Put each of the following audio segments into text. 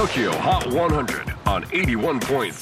TOKYO HOT 100 on 81.3 J-WAVE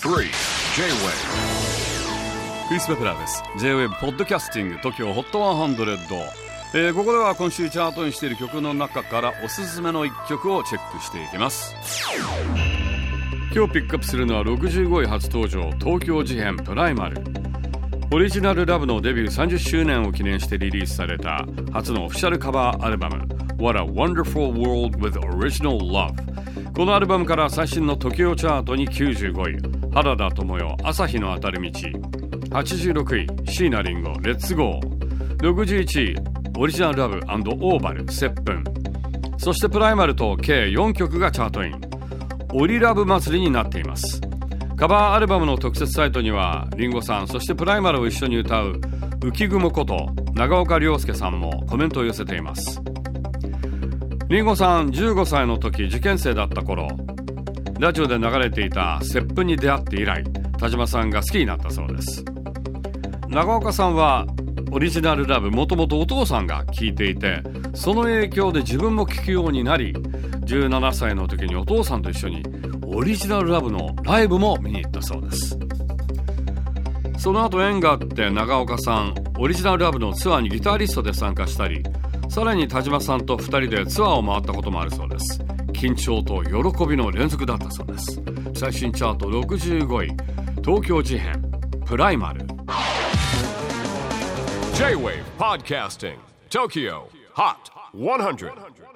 クリス・ベプラーです。 J-WAVE ポッドキャスティング TOKYO HOT 100、ここでは今週チャートにしている曲の中からおすすめの1曲をチェックしていきます。今日ピックアップするのは65位初登場、東京事変プライマル。オリジナルラブのデビュー30周年を記念してリリースされた初のオフィシャルカバーアルバム What a Wonderful World with Original Love。 このアルバムから最新の TOKYO チャートに95位、原田知世朝日の当たる道。86位椎名林檎レッツゴー。61位オリジナルラブ&オーバル接吻。そしてプライマルと計4曲がチャートイン。オリラブ祭りになっています。カバーアルバムの特設サイトにはリンゴさん、そしてプライマルを一緒に歌う浮雲こと長岡亮介さんもコメントを寄せています。リンゴさん15歳の時、受験生だった頃、ラジオで流れていた接吻に出会って以来、田島さんが好きになったそうです。長岡さんはオリジナルラブ、もともとお父さんが聴いていて、その影響で自分も聴くようになり、17歳の時にお父さんと一緒にオリジナルラブのライブも見に行ったそうです。その後縁があって長岡さん、オリジナルラブのツアーにギタリストで参加したり、さらに田島さんと2人でツアーを回ったこともあるそうです。緊張と喜びの連続だったそうです。最新チャート65位、東京事変プライマル。 J-WAVE PODCASTING TOKYO HOT 100